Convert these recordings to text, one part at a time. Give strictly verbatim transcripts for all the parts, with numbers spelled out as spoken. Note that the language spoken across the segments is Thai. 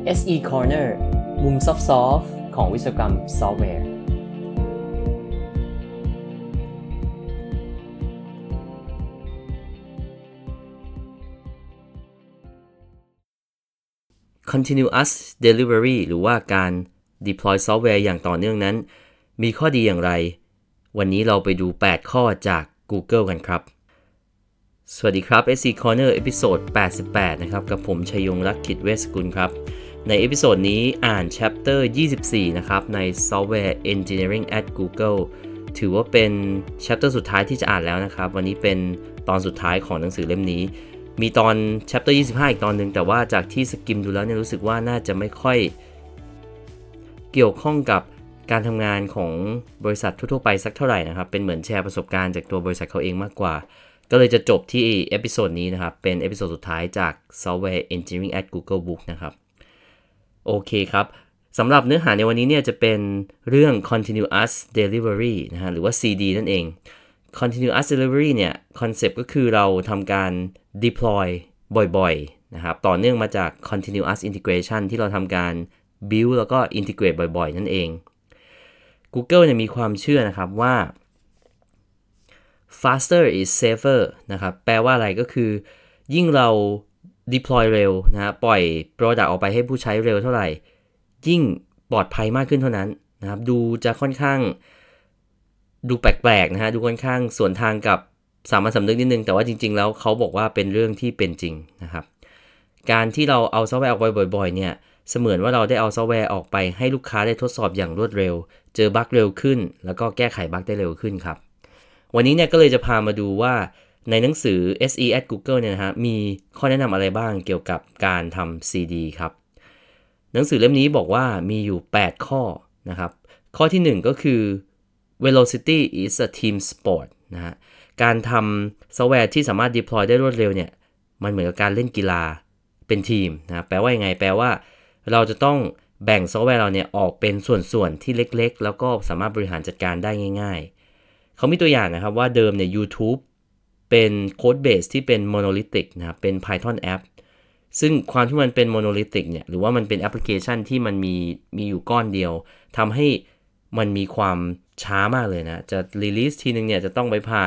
เอส อี Corner มุมซอฟต์ๆของวิศวกรรมซอฟต์แวร์ Continuous Delivery หรือว่าการ deploy ซอฟต์แวร์อย่างต่อเนื่องนั้นมีข้อดีอย่างไรวันนี้เราไปดูแปดข้อจาก Google กันครับสวัสดีครับ เอส อี Corner เอพิโซดแปดสิบแปดนะครับกับผมชัยยงลักษณ์กิจเวชสกุลครับในเอพิโซดนี้อ่าน chapter ยี่สิบสี่นะครับใน Software Engineering at Google ถือว่าเป็น chapter สุดท้ายที่จะอ่านแล้วนะครับวันนี้เป็นตอนสุดท้ายของหนังสือเล่มนี้มีตอน chapter ยี่สิบห้าอีกตอนนึงแต่ว่าจากที่สกิมดูแล้วเนี่ยรู้สึกว่าน่าจะไม่ค่อยเกี่ยวข้องกับการทำงานของบริษัททั่วๆไปสักเท่าไหร่นะครับเป็นเหมือนแชร์ประสบการณ์จากตัวบริษัทเขาเองมากกว่าก็เลยจะจบที่เอพิโซดนี้นะครับเป็นเอพิโซดสุดท้ายจาก Software Engineering at Google Book นะครับโอเคครับสำหรับเนื้อหาในวันนี้เนี่ยจะเป็นเรื่อง Continuous Delivery นะฮะหรือว่า ซี ดี นั่นเอง Continuous Delivery เนี่ยคอนเซปต์ก็คือเราทำการ deploy บ่อยๆนะครับต่อเนื่องมาจาก Continuous Integration ที่เราทำการ build แล้วก็ integrate บ่อยๆนั่นเอง Google เนี่ยมีความเชื่อนะครับว่า faster is safer นะครับแปลว่าอะไรก็คือยิ่งเรา deploy เร็วนะฮะปล่อย product ออกไปให้ผู้ใช้เร็วเท่าไหร่ยิ่งปลอดภัยมากขึ้นเท่านั้นนะครับดูจะค่อนข้างดูแปลกๆนะฮะดูค่อนข้างสวนทางกับสามัญสำนึกนิดนึงแต่ว่าจริงๆแล้วเขาบอกว่าเป็นเรื่องที่เป็นจริงนะครับการที่เราเอาซอฟต์แวร์ออกไปบ่อยๆเนี่ยเสมือนว่าเราได้เอาซอฟต์แวร์ออกไปให้ลูกค้าได้ทดสอบอย่างรวดเร็วเจอบั๊กเร็วขึ้นแล้วก็แก้ไขบั๊กได้เร็วขึ้นครับวันนี้เนี่ยก็เลยจะพามาดูว่าในหนังสือ เอส อี at Google เนี่ยนะฮะมีข้อแนะนำอะไรบ้างเกี่ยวกับการทำ ซี ดี ครับหนังสือเล่มนี้บอกว่ามีอยู่แปดข้อนะครับข้อที่หนึ่งก็คือ velocity is a team sport นะฮะการทำซอฟต์แวร์ที่สามารถ deploy ได้รวดเร็วเนี่ยมันเหมือนกับการเล่นกีฬาเป็นทีมนะแปลว่ายังไงแปลว่าเราจะต้องแบ่งซอฟต์แวร์เราเนี่ยออกเป็นส่วนๆที่เล็กๆแล้วก็สามารถบริหารจัดการได้ง่ายๆเขามีตัวอย่างนะครับว่าเดิมเนี่ย YouTube เป็นโค้ดเบสที่เป็น monolithic นะครับเป็น Python app ซึ่งความที่มันเป็น monolithic เนี่ยหรือว่ามันเป็นแอปพลิเคชันที่มันมีมีอยู่ก้อนเดียวทำให้มันมีความช้ามากเลยนะจะ release ทีนึงเนี่ยจะต้องไปผ่าน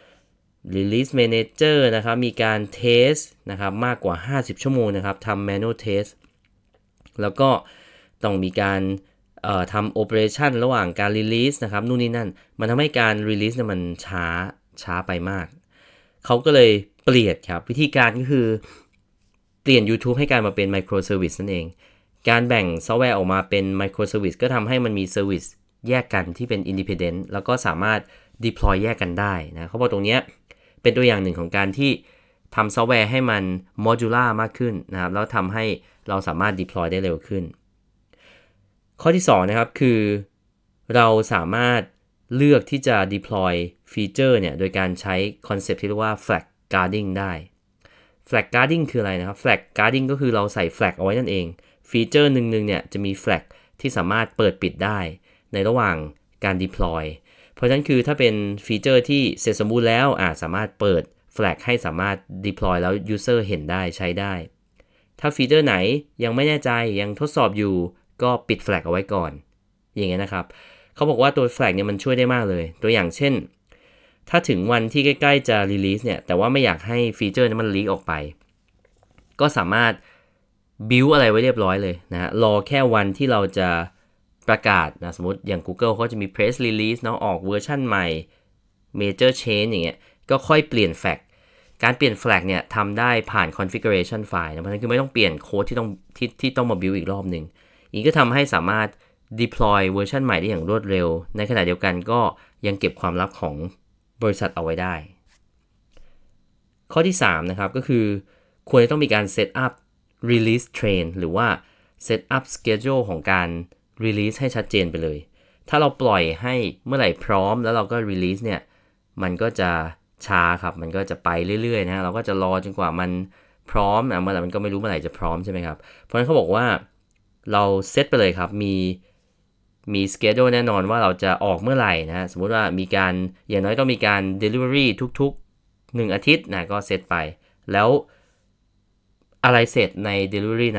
release manager นะครับมีการ test นะครับมากกว่าห้าสิบชั่วโมงนะครับทำ manual test แล้วก็ต้องมีการเอ่อทำ operation ระหว่างการ release นะครับนู่นนี่นั่นมันทำให้การ release เนี่ยมันช้าช้าไปมากเขาก็เลยเปลี่ยนครับวิธีการก็คือเปลี่ยน YouTube ให้กลายมาเป็น microservice นั่นเองการแบ่งซอฟต์แวร์ออกมาเป็น microservice ก็ทำให้มันมี service แยกกันที่เป็น independent แล้วก็สามารถ deploy แยกกันได้นะเขาบอกตรงนี้เป็นตัวอย่างหนึ่งของการที่ทำซอฟต์แวร์ให้มัน modular มากขึ้นนะครับแล้วทำให้เราสามารถ deploy ได้เร็วขึ้นข้อที่สองนะครับคือเราสามารถเลือกที่จะ deploy ฟีเจอร์เนี่ยโดยการใช้คอนเซ็ปต์ที่เรียกว่า flag guarding ได้ flag guarding คืออะไรนะครับ flag guarding ก็คือเราใส่ flag เอาไว้นั่นเองฟีเจอร์หนึ่งๆเนี่ยจะมี flag ที่สามารถเปิดปิดได้ในระหว่างการ deploy เพราะฉะนั้นคือถ้าเป็นฟีเจอร์ที่เสร็จสมบูรณ์แล้วอาจสามารถเปิด flag ให้สามารถ deploy แล้ว user เห็นได้ใช้ได้ถ้าฟีเจอร์ไหนยังไม่แน่ใจยังทดสอบอยู่ก็ปิด flag เอาไว้ก่อนอย่างเงี้ยนะครับเขาบอกว่าตัว flag เนี่ยมันช่วยได้มากเลยตัวอย่างเช่นถ้าถึงวันที่ใกล้ๆจะ release เนี่ยแต่ว่าไม่อยากให้ฟีเจอร์นั้นมัน leak ออกไปก็สามารถ build อะไรไว้เรียบร้อยเลยนะฮะรอแค่วันที่เราจะประกาศนะสมมติอย่าง Google เขาจะมี press release เนาะออกเวอร์ชันใหม่ major change อย่างเงี้ยก็ค่อยเปลี่ยน flag การเปลี่ยน flag เนี่ยทำได้ผ่าน configuration file นะเพราะฉะนั้นคือไม่ต้องเปลี่ยนโค้ดที่ต้องที่ที่ต้องมา build อีกรอบนึงอีกก็ทำให้สามารถ deploy เวอร์ชันใหม่ได้อย่างรวดเร็วในขณะเดียวกันก็ยังเก็บความลับของบริษัทเอาไว้ได้ข้อที่สามนะครับก็คือควรจะต้องมีการ set up release train หรือว่า set up schedule ของการ release ให้ชัดเจนไปเลยถ้าเราปล่อยให้เมื่อไหร่พร้อมแล้วเราก็ release เนี่ยมันก็จะช้าครับมันก็จะไปเรื่อยๆนะเราก็จะรอจนกว่ามันพร้อมนะเมื่อไหร่มันก็ไม่รู้เมื่อไหร่จะพร้อมใช่ไหมครับเพราะฉะนั้นเขาบอกว่าเราเซตไปเลยครับมีมี schedule แน่นอนว่าเราจะออกเมื่อไหร่นะสมมุติว่ามีการอย่างน้อยก็มีการ delivery ทุกๆหนึ่งอาทิตย์นะก็เซตไปแล้วอะไรเสร็จใน delivery นั้น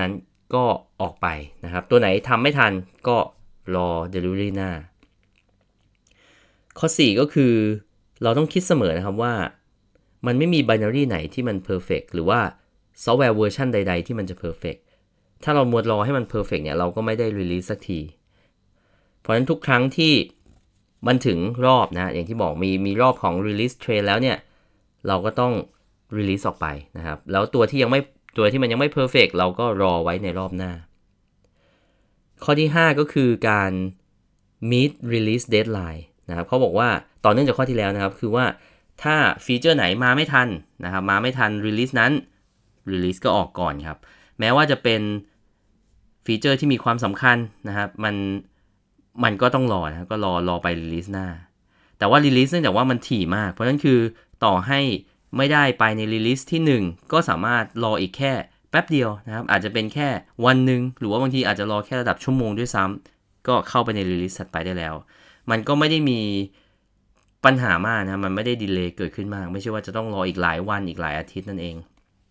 ก็ออกไปนะครับตัวไหนทำไม่ทันก็รอ delivery หน้าข้อสี่ก็คือเราต้องคิดเสมอนะครับว่ามันไม่มี binary ไหนที่มัน perfect หรือว่าซอฟต์แวร์เวอร์ชันใดๆที่มันจะ perfect ถ้าเรามัวรอให้มัน perfect เนี่ยเราก็ไม่ได้ release สักทีเพราะฉะนั้นทุกครั้งที่มันถึงรอบนะอย่างที่บอกมีมีรอบของ release train แล้วเนี่ยเราก็ต้อง release ออกไปนะครับแล้วตัวที่ยังไม่ตัวที่มันยังไม่ perfect เราก็รอไว้ในรอบหน้าข้อที่ห้าก็คือการ meet release deadline นะครับเขาบอกว่าต่อเนื่องจากข้อที่แล้วนะครับคือว่าถ้าฟีเจอร์ไหนมาไม่ทันนะครับมาไม่ทัน release นั้น release ก็ออกก่อนครับแม้ว่าจะเป็นฟีเจอร์ที่มีความสำคัญนะครับมันมันก็ต้องรอนะก็รอรอไป release หน้าแต่ว่า release เนื่องจากว่ามันถี่มากเพราะฉะนั้นคือต่อให้ไม่ได้ไปใน release ที่หนึ่งก็สามารถรออีกแค่แป๊บเดียวนะครับอาจจะเป็นแค่วันนึงหรือว่าบางทีอาจจะรอแค่ระดับชั่วโมงด้วยซ้ำก็เข้าไปใน release ถัดไปได้แล้วมันก็ไม่ได้มีปัญหามากนะมันไม่ได้ดีเลย์เกิดขึ้นมากไม่ใช่ว่าจะต้องรออีกหลายวันอีกหลายอาทิตย์นั่นเอง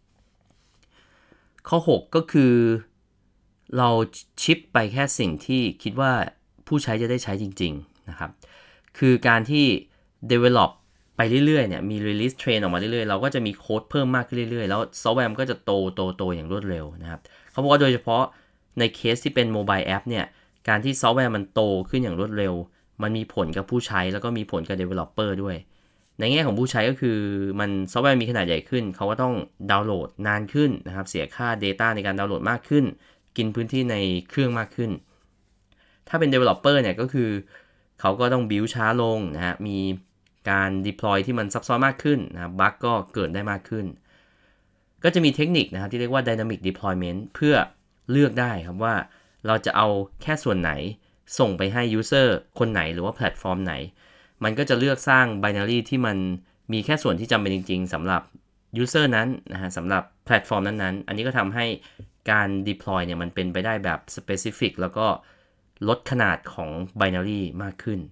ข้อหกก็คือเราชิปไปแค่สิ่งที่คิดว่าผู้ใช้จะได้ใช้จริงๆนะครับคือการที่ develop ไปเรื่อยๆเนี่ยมี release train ออกมาเรื่อยๆเราก็จะมีโค้ดเพิ่มมากขึ้นเรื่อยๆแล้วซอฟต์แวร์มันก็จะโตโตโตอย่างรวดเร็วนะครับเขาบอกว่าโดยเฉพาะในเคสที่เป็นโมบายแอปเนี่ยการที่ซอฟต์แวร์มันโตขึ้นอย่างรวดเร็วมันมีผลกับผู้ใช้แล้วก็มีผลกับ developer ด้วยในแง่ของผู้ใช้ก็คือมันซอฟต์แวร์มีขนาดใหญ่ขึ้นเขาก็ต้องดาวน์โหลดนานขึ้นนะครับเสียค่า data ในการดาวน์โหลดมากขึ้นกินพื้นที่ในเครื่องมากขึ้นถ้าเป็น developer เนี่ยก็คือเขาก็ต้อง build ช้าลงนะฮะมีการ deploy ที่มันซับซ้อนมากขึ้นนะครับบั๊กก็เกิดได้มากขึ้นก็จะมีเทคนิคนะครับที่เรียกว่า dynamic deployment เพื่อเลือกได้ครับว่าเราจะเอาแค่ส่วนไหนส่งไปให้ user คนไหนหรือว่าแพลตฟอร์มไหนมันก็จะเลือกสร้าง binary ที่มันมีแค่ส่วนที่จำเป็นจริงๆสำหรับ user นั้นนะฮะสำหรับแพลตฟอร์มนั้นๆอันนี้ก็ทำให้การ deploy เนี่ยมันเป็นไปได้แบบ specific แล้วก็ลดขนาดของ binary มากขึ้น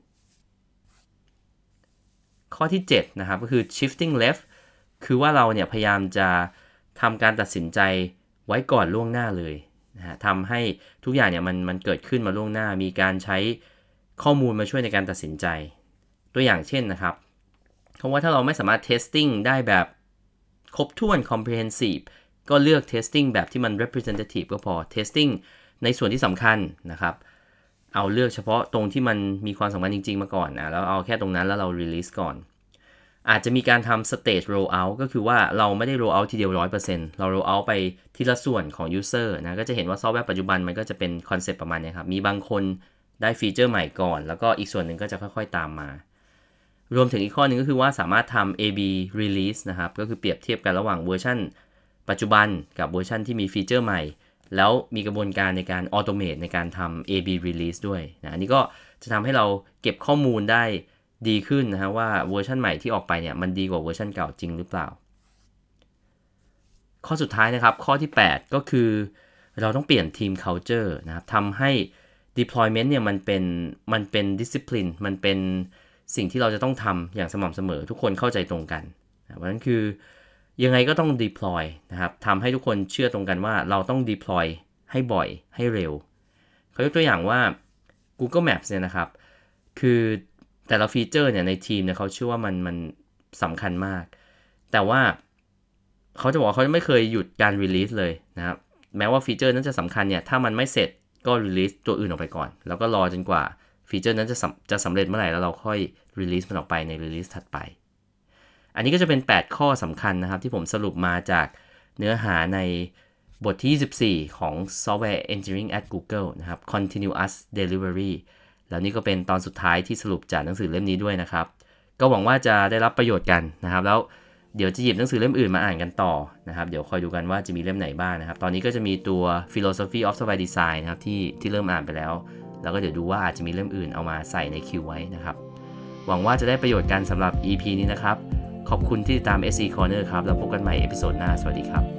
ข้อที่เจ็ดนะครับก็คือ shifting left คือว่าเราเนี่ยพยายามจะทำการตัดสินใจไว้ก่อนล่วงหน้าเลยนะฮะทำให้ทุกอย่างเนี่ยมันมันเกิดขึ้นมาล่วงหน้ามีการใช้ข้อมูลมาช่วยในการตัดสินใจตัวอย่างเช่นนะครับเพราะว่าถ้าเราไม่สามารถ testing ได้แบบครบถ้วน comprehensive ก็เลือก testing แบบที่มัน representative ก็พอ testing ในส่วนที่สำคัญนะครับเอาเลือกเฉพาะตรงที่มันมีความสำคัญจริงๆมาก่อนนะแล้วเอาแค่ตรงนั้นแล้วเรา release ก่อนอาจจะมีการทำ stage rollout ก็คือว่าเราไม่ได้ rollout ทีเดียว หนึ่งร้อยเปอร์เซ็นต์ เรา rollout ไปทีละส่วนของ user นะก็จะเห็นว่าซอฟต์แวร์ปัจจุบันมันก็จะเป็นคอนเซ็ปต์ประมาณนี้ครับมีบางคนได้ฟีเจอร์ใหม่ก่อนแล้วก็อีกส่วนหนึ่งก็จะค่อยๆตามมารวมถึงอีกข้อนึงก็คือว่าสามารถทำ เอ บี release นะครับก็คือเปรียบเทียบกันระหว่างเวอร์ชันปัจจุบันกับเวอร์ชันที่มีฟีเจอร์ใหม่แล้วมีกระบวนการในการ automate ในการทำ เอ บี release ด้วยนะอันนี้ก็จะทำให้เราเก็บข้อมูลได้ดีขึ้นนะฮะว่าเวอร์ชันใหม่ที่ออกไปเนี่ยมันดีกว่าเวอร์ชันเก่าจริงหรือเปล่าข้อสุดท้ายนะครับข้อที่แปดก็คือเราต้องเปลี่ยนทีม culture นะครับทำให้ deployment เนี่ยมันเป็นมันเป็น discipline มันเป็นสิ่งที่เราจะต้องทำอย่างสม่ำเสมอทุกคนเข้าใจตรงกันเพราะฉะนั้นคือยังไงก็ต้อง deploy นะครับทำให้ทุกคนเชื่อตรงกันว่าเราต้อง deploy ให้บ่อยให้เร็วเขายกตัวอย่างว่า Google Maps เนี่ยนะครับคือแต่ละฟีเจอร์เนี่ยในทีมเนี่ยเขาเชื่อว่ามันมันสำคัญมากแต่ว่าเขาจะบอกเขาไม่เคยหยุดการ release เลยนะครับแม้ว่าฟีเจอร์นั้นจะสำคัญเนี่ยถ้ามันไม่เสร็จก็ release ตัวอื่นออกไปก่อนแล้วก็รอจนกว่าฟีเจอร์นั้นจะจะสำเร็จเมื่อไหร่แล้วเราค่อย release มันออกไปใน release ถัดไปอันนี้ก็จะเป็นแปดข้อสำคัญนะครับที่ผมสรุปมาจากเนื้อหาในบทที่ยี่สิบสี่ของ Software Engineering at Google นะครับ Continuous Delivery แล้วนี่ก็เป็นตอนสุดท้ายที่สรุปจากหนังสือเล่มนี้ด้วยนะครับก็หวังว่าจะได้รับประโยชน์กันนะครับแล้วเดี๋ยวจะหยิบหนังสือเล่มอื่นมาอ่านกันต่อนะครับเดี๋ยวคอยดูกันว่าจะมีเล่มไหนบ้าง นะครับตอนนี้ก็จะมีตัว Philosophy of Software Design นะครับที่ที่เริ่มอ่านไปแล้วแล้วก็เดี๋ยวดูว่าอาจจะมีเล่มอื่นเอามาใส่ในคิวไว้นะครับหวังว่าจะได้ประโยชน์กันสำหรับ อี พี นี้นะครับขอบคุณที่ติดตาม เอส อี Corner ครับแล้วพบกันใหม่เอพิโซดหน้าสวัสดีครับ